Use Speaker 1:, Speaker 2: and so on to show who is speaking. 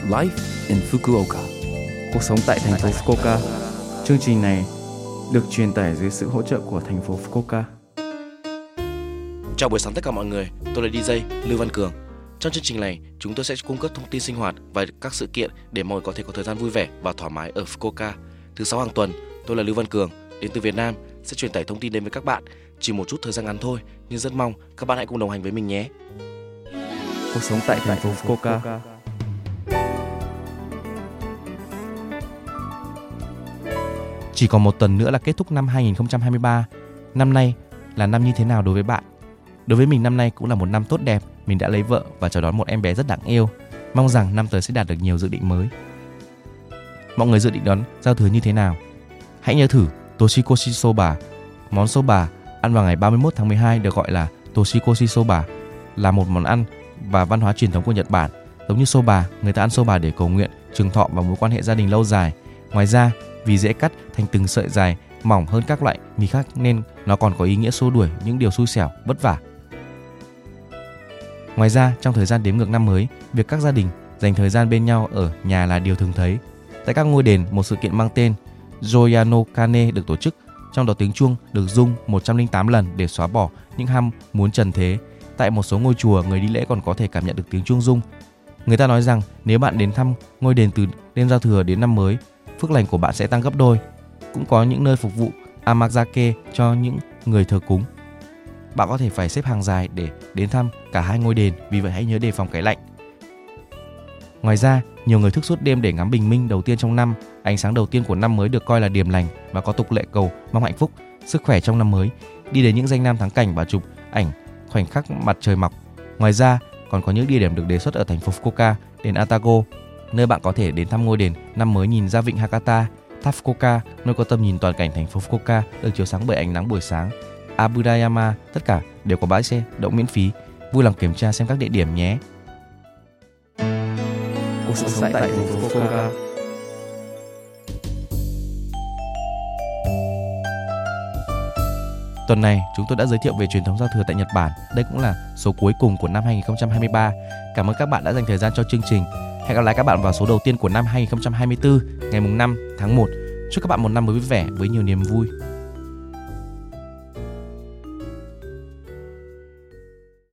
Speaker 1: Life in Fukuoka. Cuộc sống tại thành phố Fukuoka. Chương trình này được truyền tải dưới sự hỗ trợ của thành phố Fukuoka.
Speaker 2: Chào buổi sáng tất cả mọi người, tôi là DJ Lưu Văn Cường. Trong chương trình này, chúng tôi sẽ cung cấp thông tin sinh hoạt và các sự kiện để mọi người có thể có thời gian vui vẻ và thoải mái ở Fukuoka. Thứ 6 hàng tuần, tôi là Lưu Văn Cường, đến từ Việt Nam, sẽ truyền tải thông tin đến với các bạn. Chỉ một chút thời gian ngắn thôi, nhưng rất mong các bạn hãy cùng đồng hành với mình nhé.
Speaker 1: Cuộc sống tại thành phố Fukuoka.
Speaker 3: Chỉ còn một tuần nữa là kết thúc năm 2023. Năm nay là năm như thế nào đối với bạn? Đối với mình năm nay cũng là một năm tốt đẹp. Mình đã lấy vợ và chào đón một em bé rất đáng yêu. Mong rằng năm tới sẽ đạt được nhiều dự định mới. Mọi người dự định đón giao thừa như thế nào? Hãy nhớ thử Toshikoshi Soba. Món soba ăn vào ngày 31 tháng 12 được gọi là Toshikoshi Soba, là một món ăn và văn hóa truyền thống của Nhật Bản. Giống như soba, người ta ăn soba để cầu nguyện, trường thọ và mối quan hệ gia đình lâu dài. Ngoài ra, vì dễ cắt thành từng sợi dài mỏng hơn các loại mì khác nên nó còn có ý nghĩa xua đuổi những điều xui xẻo, vất vả. Ngoài ra, trong thời gian đếm ngược năm mới, việc các gia đình dành thời gian bên nhau ở nhà là điều thường thấy. Tại các ngôi đền, một sự kiện mang tên Joya no Kane được tổ chức, trong đó tiếng chuông được rung 108 lần để xóa bỏ những ham muốn trần thế. Tại một số ngôi chùa, người đi lễ còn có thể cảm nhận được tiếng chuông rung. Người ta nói rằng nếu bạn đến thăm ngôi đền từ đêm giao thừa đến năm mới, phước lành của bạn sẽ tăng gấp đôi. Cũng có những nơi phục vụ amazake cho những người thờ cúng. Bạn có thể phải xếp hàng dài để đến thăm cả hai ngôi đền, vì vậy hãy nhớ đề phòng cái lạnh. Ngoài ra, nhiều người thức suốt đêm để ngắm bình minh đầu tiên trong năm. Ánh sáng đầu tiên của năm mới được coi là điềm lành và có tục lệ cầu mong hạnh phúc, sức khỏe trong năm mới. Đi đến những danh lam thắng cảnh và chụp ảnh khoảnh khắc mặt trời mọc. Ngoài ra, còn có những địa điểm được đề xuất ở thành phố Fukuoka, đền Atago, nơi bạn có thể đến thăm ngôi đền năm mới nhìn ra vịnh Hakata, tháp Fukuoka, nơi có tầm nhìn toàn cảnh thành phố Fukuoka được chiếu sáng bởi ánh nắng buổi sáng, Abudayama, tất cả đều có bãi xe đậu miễn phí. Vui lòng kiểm tra xem các địa điểm nhé.
Speaker 1: Cuộc sống tại thành phố Fukuoka.
Speaker 3: Tuần này, chúng tôi đã giới thiệu về truyền thống giao thừa tại Nhật Bản. Đây cũng là số cuối cùng của năm 2023. Cảm ơn các bạn đã dành thời gian cho chương trình. Hẹn gặp lại các bạn vào số đầu tiên của năm 2024, ngày 5 tháng 1. Chúc các bạn một năm mới vui vẻ với nhiều niềm vui.